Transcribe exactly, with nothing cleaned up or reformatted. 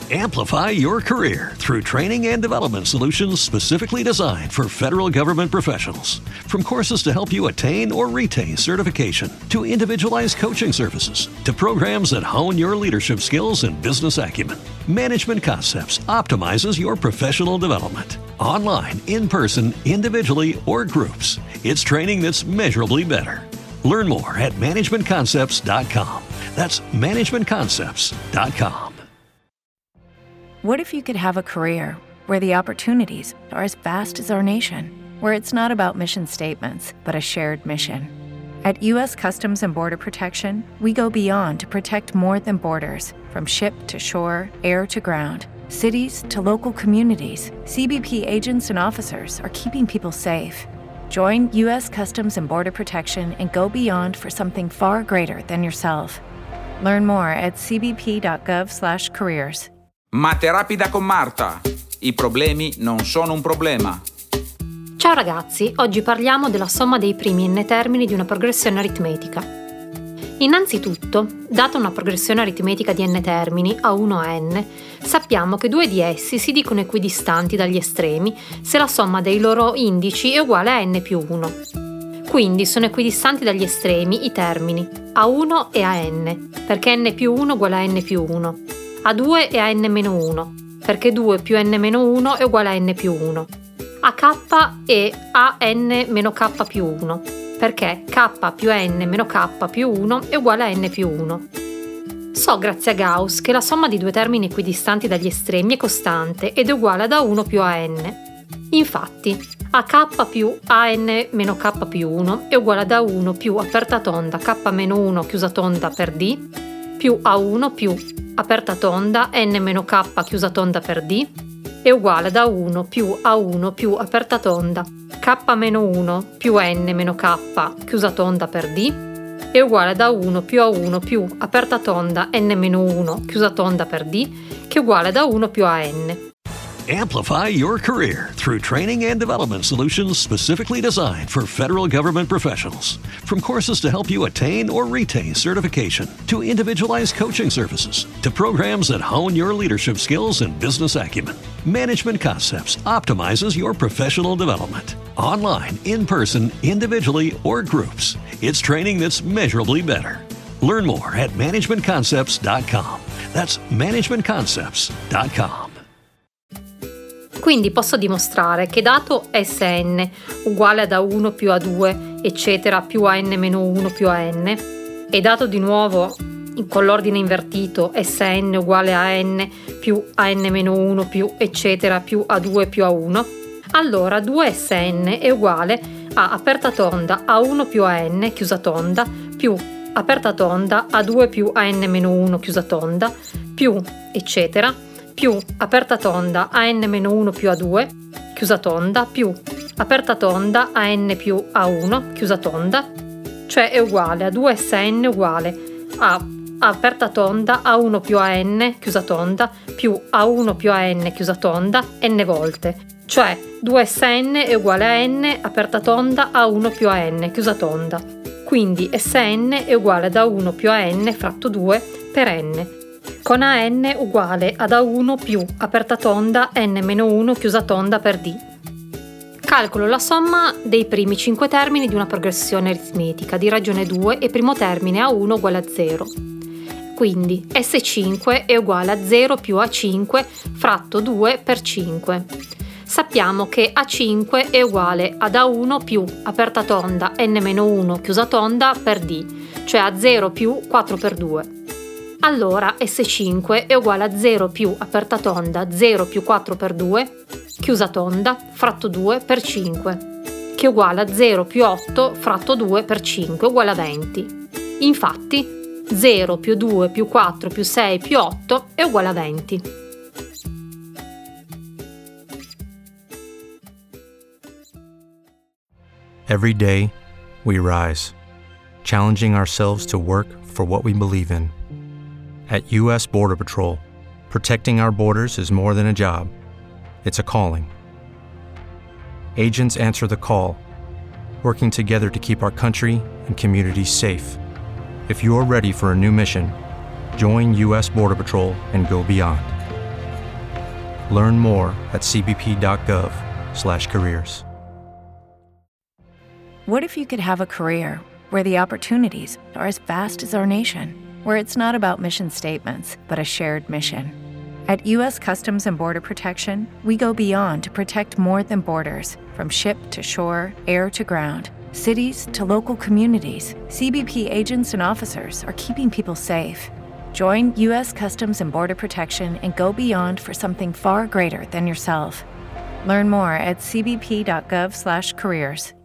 Amplify your career through training and development solutions specifically designed for federal government professionals. From courses to help you attain or retain certification, to individualized coaching services, to programs that hone your leadership skills and business acumen, Management Concepts optimizes your professional development. Online, in person, individually, or groups, it's training that's measurably better. Learn more at management concepts dot com. That's management concepts dot com. What if you could have a career where the opportunities are as vast as our nation, where it's not about mission statements, but a shared mission? At U S Customs and Border Protection, we go beyond to protect more than borders, from ship to shore, air to ground, cities to local communities. C B P agents and officers are keeping people safe. Join U S Customs and Border Protection and go beyond for something far greater than yourself. Learn more at c b p dot gov slash careers. Mate rapida con Marta. I problemi non sono un problema. Ciao ragazzi, oggi parliamo della somma dei primi n termini di una progressione aritmetica. Innanzitutto, data una progressione aritmetica di n termini, a uno a n, sappiamo che due di essi si dicono equidistanti dagli estremi se la somma dei loro indici è uguale a n più uno. Quindi sono equidistanti dagli estremi i termini a uno e a n, perché n più uno uguale a n più uno, a due e a n meno uno, perché due più n meno uno è uguale a n più uno, a k e a n meno k più uno, perché k più n meno k più uno è uguale a n più uno. So grazie a Gauss che la somma di due termini equidistanti dagli estremi è costante ed è uguale ad a uno più a n. Infatti, a k più a n meno k più uno è uguale ad a uno più aperta tonda k meno uno chiusa tonda per d, più a uno più aperta tonda n meno k chiusa tonda per d, è uguale ad a uno più a uno più aperta tonda k meno uno più n meno k chiusa tonda per d, è uguale ad a uno più a uno più aperta tonda n meno uno chiusa tonda per d, che è uguale ad a uno più a n. Amplify your career through training and development solutions specifically designed for federal government professionals. From courses to help you attain or retain certification, to individualized coaching services, to programs that hone your leadership skills and business acumen, Management Concepts optimizes your professional development. Online, in person, individually, or groups, it's training that's measurably better. Learn more at management concepts dot com. That's management concepts dot com. Quindi posso dimostrare che dato Sn uguale ad a uno più a due, eccetera, più a n meno uno più a n, e dato di nuovo con l'ordine invertito Sn uguale a n più a n meno uno più, eccetera, più a due più a uno, allora due Sn è uguale a aperta tonda a uno più a n chiusa tonda più aperta tonda a due più a n meno uno chiusa tonda più, eccetera, più aperta tonda a n meno uno più a due, chiusa tonda, più aperta tonda a n più a uno, chiusa tonda, cioè è uguale a due Sn uguale a aperta tonda a uno più a n, chiusa tonda, più a uno più a n, chiusa tonda, n volte, cioè due Sn è uguale a n aperta tonda a uno più a n, chiusa tonda. Quindi Sn è uguale ad a uno più a n fratto due per n, con a n uguale ad a uno più aperta tonda n meno uno chiusa tonda per d. Calcolo la somma dei primi cinque termini di una progressione aritmetica di ragione due e primo termine a uno uguale a zero. Quindi S cinque è uguale a zero più A cinque fratto due per cinque. Sappiamo che A cinque è uguale ad A uno più aperta tonda n meno uno chiusa tonda per d, cioè a zero più quattro per due. Allora S cinque è uguale a zero più aperta tonda zero più quattro per due, chiusa tonda, fratto due per cinque, che è uguale a zero più otto fratto due per cinque uguale a venti. Infatti zero più due più quattro più sei più otto è uguale a venti. Every day, we rise, challenging ourselves to work for what we believe in. At U S Border Patrol, protecting our borders is more than a job, it's a calling. Agents answer the call, working together to keep our country and communities safe. If you're ready for a new mission, join U S Border Patrol and go beyond. Learn more at cbp.gov slash careers. What if you could have a career where the opportunities are as vast as our nation, where it's not about mission statements, but a shared mission? At U S Customs and Border Protection, we go beyond to protect more than borders. From ship to shore, air to ground, cities to local communities, C B P agents and officers are keeping people safe. Join U S Customs and Border Protection and go beyond for something far greater than yourself. Learn more at cbp.gov slash careers.